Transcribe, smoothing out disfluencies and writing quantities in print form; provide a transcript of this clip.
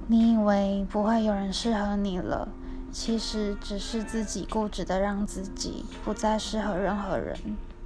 你以为不会有人适合你了，其实只是自己固执的让自己不再适合任何人。